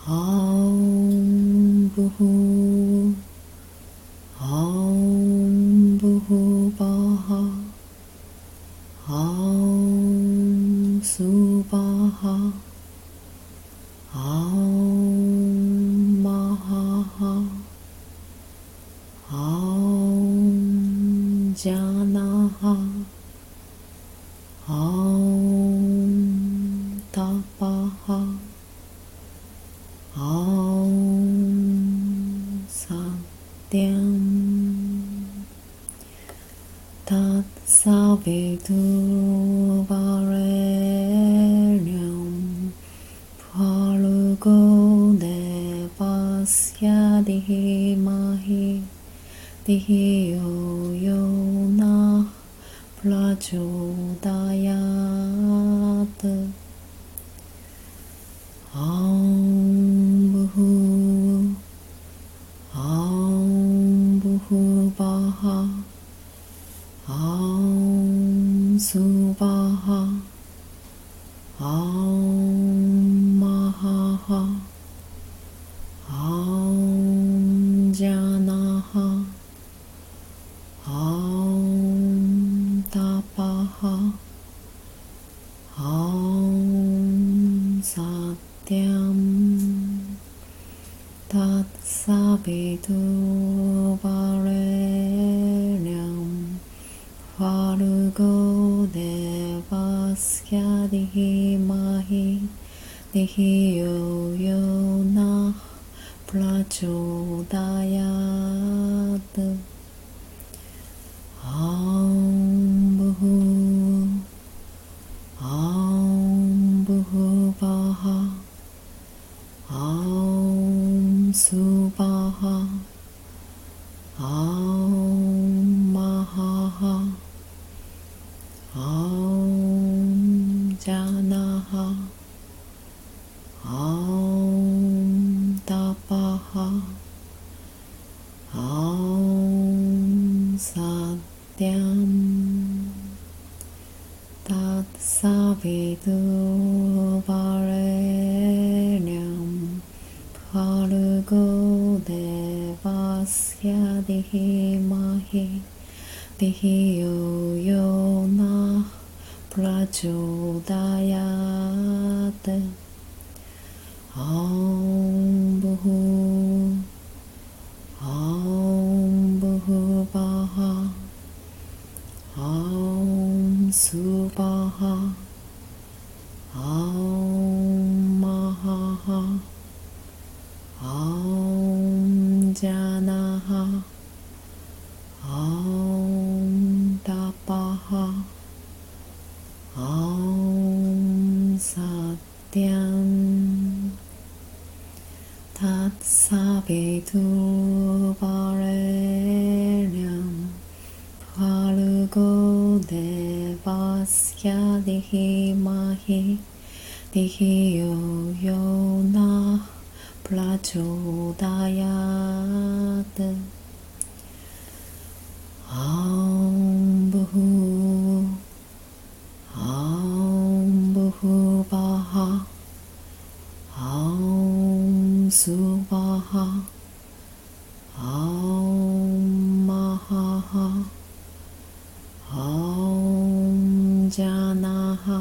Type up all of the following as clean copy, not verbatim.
Om Buhu Om Buhu Baha Om Subaha Om Mahaha Om Janaha Om Tapaha Om Satyam Tat Saviturvarenyam Bhargo Devasya Dhimahi Dhiyo Yona Prachodayat Om Buhu Om Buhu Baha Om Subaha Om Mahaha Om Janaha Om Tapaha Om Satyam Tat Saviturvarenyam Bhargo Devasya Dhimahi Dhiyo Yona Prachodayat Om Buhu Om Buhu Baha Om Subaha Om Mahaha Om Janaha Om Tapaha Om Satyam Tat Saviturvarenyam Bhargo Devasya Dhimahi Dhiyo Yona Prachodayat Om Buhu Om Buhu Baha Om Subaha Om Mahaha Om Janaha Om Tapaha Om Satyam Tat Saviturvarenyam Bhargo Devasya Dhimahi Dhiyo Yona Prachodayat Om Buhu Om Buhu Baha Om Subaha Om Mahaha Om Janaha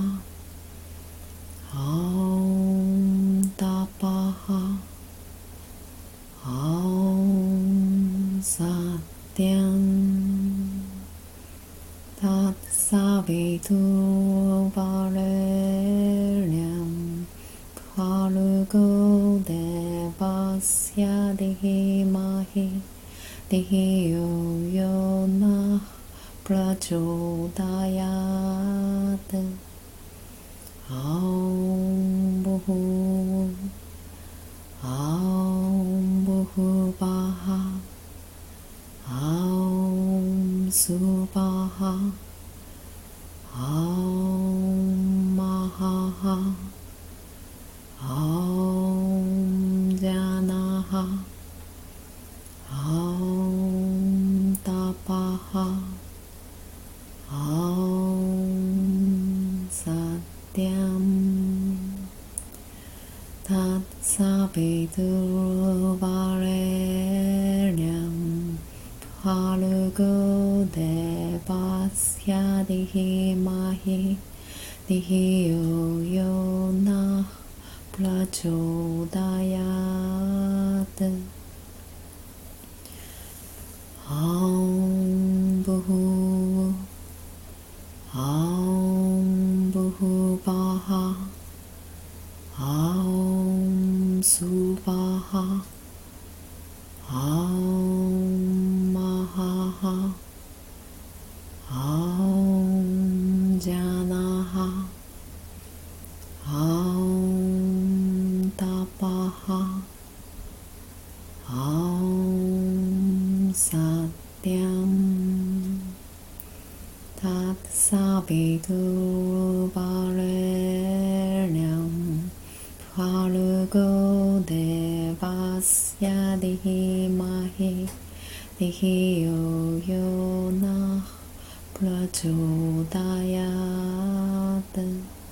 Om Tapaha Om Satyam Tat Saviturvarenyam Bhargo Devasya Dhimahi Dhiyo Yona Prachodayat Om Buhu Om Buhu Baha Om Subaha Om Mahaha Om Janaha Om Tapaha Om Satyam Tatsaviturvarenyam Bhargo devasya dhimahi Dhiyo yo nah prachodayat Aum Bhuvaha Aum Suvaha Aum Mahaha Aum Janaha Aum Tapaha Aum Satyam Tatsaviturvarenyam Bhargo devasya dhimahi Dhiyo yo nah prachodayat